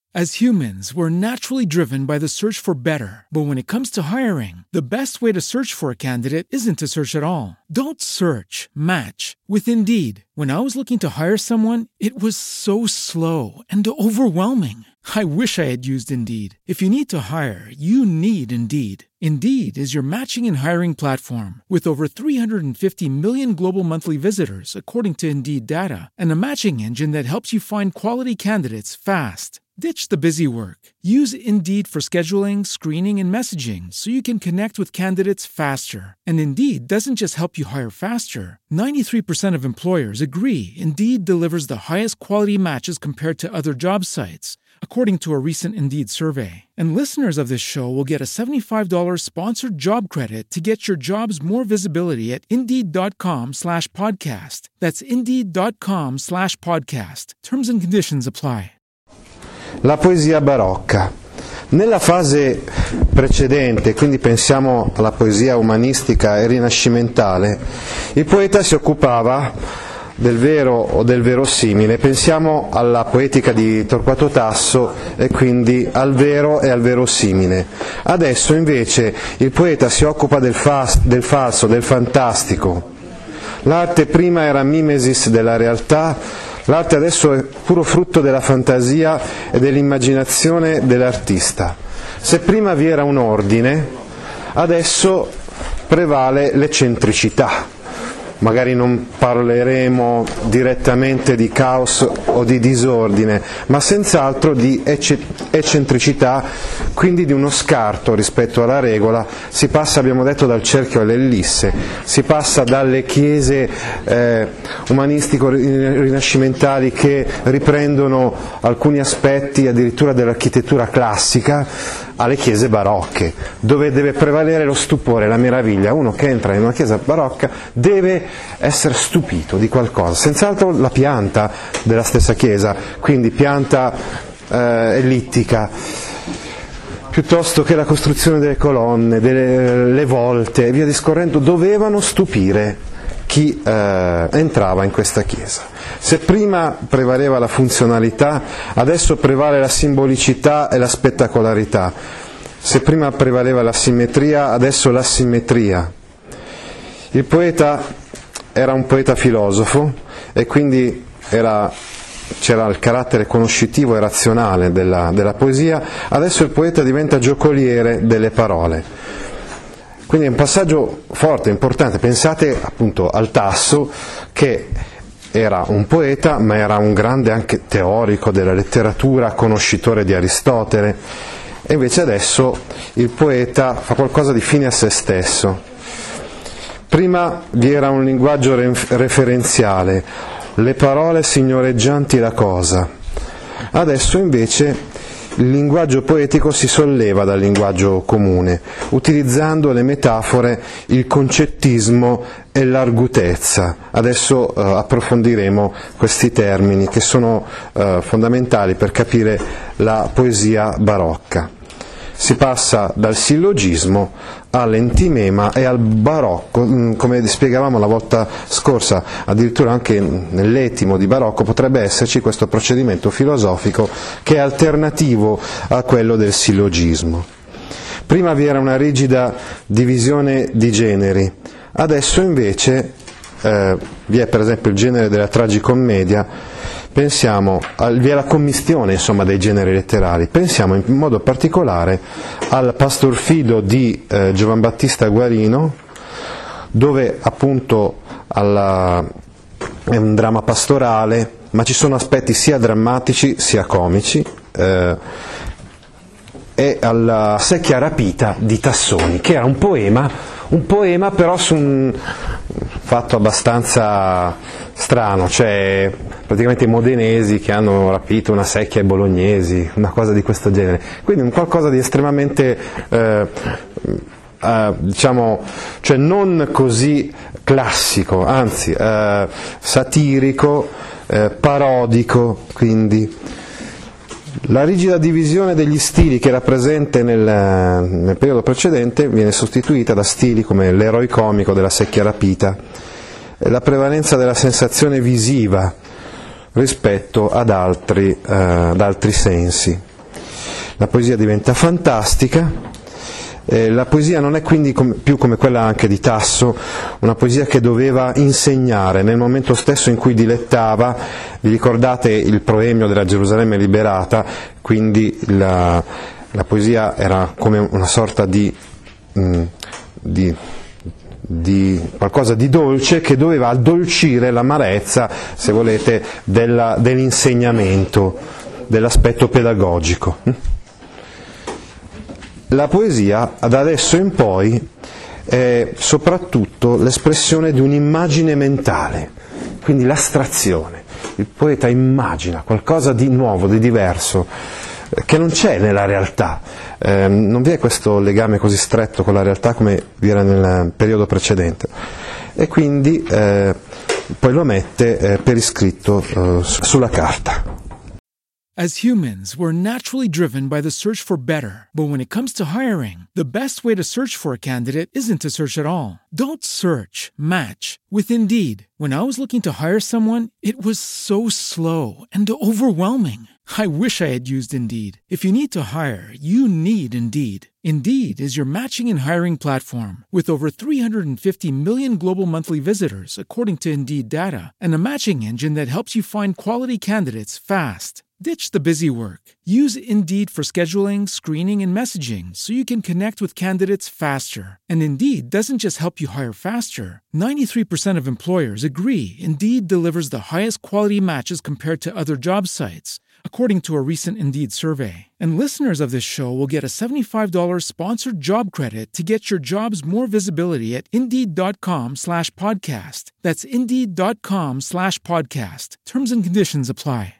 As humans, we're naturally driven by the search for better. But when it comes to hiring, the best way to search for a candidate isn't to search at all. Don't search, match with Indeed. When I was looking to hire someone, it was so slow and overwhelming. I wish I had used Indeed. If you need to hire, you need Indeed. Indeed is your matching and hiring platform with over 350 million global monthly visitors, according to Indeed data, and a matching engine that helps you find quality candidates fast. Ditch the busy work. Use Indeed for scheduling, screening, and messaging so you can connect with candidates faster. And Indeed doesn't just help you hire faster. 93% of employers agree Indeed delivers the highest quality matches compared to other job sites, according to a recent Indeed survey. And listeners of this show will get a $75 sponsored job credit to get your jobs more visibility at Indeed.com/podcast. That's Indeed.com/podcast. Terms and conditions apply. La poesia barocca. Nella fase precedente, quindi pensiamo alla poesia umanistica e rinascimentale, il poeta si occupava del vero o del verosimile. Pensiamo alla poetica di Torquato Tasso e quindi al vero e al verosimile. Adesso invece il poeta si occupa del falso, del fantastico. L'arte prima era mimesis della realtà, l'arte adesso è puro frutto della fantasia e dell'immaginazione dell'artista. Se prima vi era un ordine, adesso prevale l'eccentricità. Magari non parleremo direttamente di caos o di disordine, ma senz'altro di eccentricità, quindi di uno scarto rispetto alla regola. Si passa, abbiamo detto, dal cerchio all'ellisse, si passa dalle chiese umanistico-rinascimentali che riprendono alcuni aspetti addirittura dell'architettura classica, alle chiese barocche, dove deve prevalere lo stupore, la meraviglia. Uno che entra in una chiesa barocca deve essere stupito di qualcosa, senz'altro la pianta della stessa chiesa, quindi pianta ellittica, piuttosto che la costruzione delle colonne, le volte e via discorrendo, dovevano stupire chi entrava in questa chiesa. Se prima prevaleva la funzionalità, adesso prevale la simbolicità e la spettacolarità. Se prima prevaleva la simmetria, adesso l'asimmetria. Il poeta era un poeta filosofo e quindi c'era il carattere conoscitivo e razionale della poesia. Adesso il poeta diventa giocoliere delle parole. Quindi è un passaggio forte, importante. Pensate appunto al Tasso, che era un poeta, ma era un grande anche teorico della letteratura, conoscitore di Aristotele, e invece adesso il poeta fa qualcosa di fine a se stesso. Prima vi era un linguaggio referenziale, le parole signoreggianti la cosa. Adesso invece il linguaggio poetico si solleva dal linguaggio comune, utilizzando le metafore, il concettismo e l'argutezza. Adesso approfondiremo questi termini che sono fondamentali per capire la poesia barocca. Si passa dal sillogismo all'entimema e al barocco, come spiegavamo la volta scorsa, addirittura anche nell'etimo di barocco potrebbe esserci questo procedimento filosofico che è alternativo a quello del sillogismo. Prima vi era una rigida divisione di generi, adesso invece vi è per esempio il genere della tragicommedia. Pensiamo, vi è la commistione insomma dei generi letterari, pensiamo in modo particolare al Pastor Fido di Giovan Battista Guarino, dove appunto è un dramma pastorale, ma ci sono aspetti sia drammatici sia comici, e alla Secchia rapita di Tassoni, che era un poema però su un fatto abbastanza strano, cioè praticamente i modenesi che hanno rapito una secchia ai bolognesi, una cosa di questo genere, quindi un qualcosa di estremamente diciamo, cioè non così classico, anzi satirico, parodico. Quindi la rigida divisione degli stili che era presente nel periodo precedente viene sostituita da stili come l'eroi comico della Secchia rapita, la prevalenza della sensazione visiva rispetto ad altri sensi. la poesia diventa fantastica. La poesia non è quindi più come quella anche di Tasso, una poesia che doveva insegnare nel momento stesso in cui dilettava. Vi ricordate il proemio della Gerusalemme liberata? Quindi la poesia era come una sorta di qualcosa di dolce che doveva addolcire l'amarezza, se volete, dell'insegnamento, dell'aspetto pedagogico. La poesia, da adesso in poi, è soprattutto l'espressione di un'immagine mentale, quindi l'astrazione. Il poeta immagina qualcosa di nuovo, di diverso, che non c'è nella realtà. Non vi è questo legame così stretto con la realtà come vi era nel periodo precedente. E quindi poi lo mette per iscritto sulla carta. As humans, we're naturally driven by the search for better. But when it comes to hiring, the best way to search for a candidate isn't to search at all. Don't search, match with Indeed. When I was looking to hire someone, it was so slow and overwhelming. I wish I had used Indeed. If you need to hire, you need Indeed. Indeed is your matching and hiring platform with over 350 million global monthly visitors, according to Indeed data, and a matching engine that helps you find quality candidates fast. Ditch the busy work. Use Indeed for scheduling, screening, and messaging so you can connect with candidates faster. And Indeed doesn't just help you hire faster. 93% of employers agree Indeed delivers the highest quality matches compared to other job sites, according to a recent Indeed survey. And listeners of this show will get a $75 sponsored job credit to get your jobs more visibility at Indeed.com/podcast. That's Indeed.com/podcast. Terms and conditions apply.